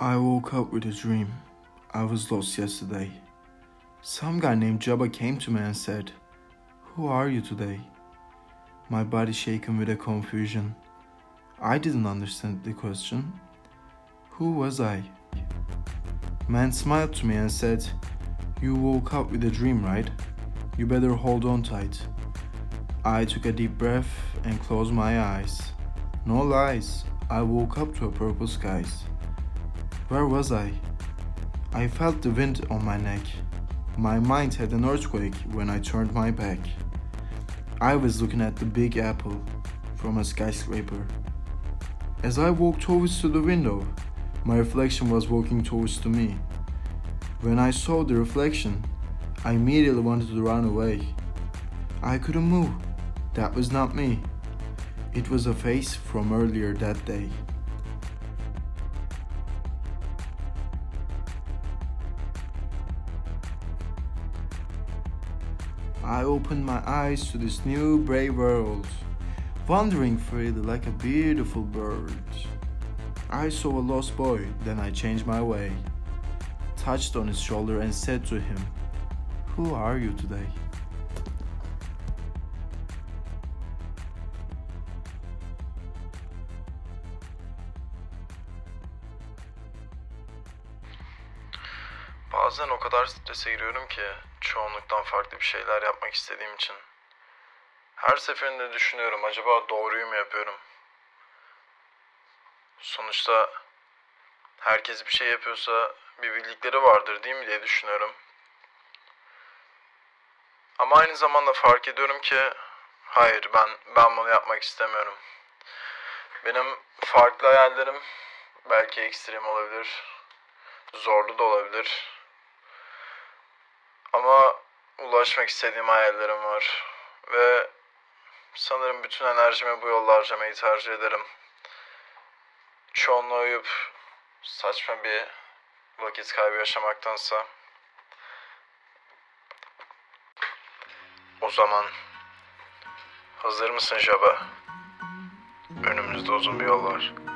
I woke up with a dream. I was lost yesterday. Some guy named Jabba came to me and said, "Who are you today?" My body shaken with a confusion. I didn't understand the question. Who was I? Man smiled to me and said, "You woke up with a dream, right? You better hold on tight." I took a deep breath and closed my eyes. No lies, I woke up to a purple skies. Where was I? I felt the wind on my neck. My mind had an earthquake when I turned my back. I was looking at the Big Apple from a skyscraper. As I walked towards to the window, my reflection was walking towards to me. When I saw the reflection, I immediately wanted to run away. I couldn't move. That was not me. It was a face from earlier that day. I opened my eyes to this new brave world, wandering freely like a beautiful bird. I saw a lost boy, then I changed my way, touched on his shoulder and said to him, "Who are you today?" Bazen o kadar strese giriyorum ki çoğunluktan farklı bir şeyler yapmak istediğim için. Her seferinde düşünüyorum, acaba doğruyu mu yapıyorum? Sonuçta herkes bir şey yapıyorsa bir bildikleri vardır değil mi diye düşünüyorum. Ama aynı zamanda fark ediyorum ki hayır, ben bunu yapmak istemiyorum. Benim farklı hayallerim belki ekstrem olabilir, zorlu da olabilir. Ama ulaşmak istediğim hayallerim var ve sanırım bütün enerjimi bu yolda harcamayı tercih ederim. Çoğunluğa uyup saçma bir vakit kaybı yaşamaktansa. O zaman hazır mısın Jabba? Önümüzde uzun bir yol var.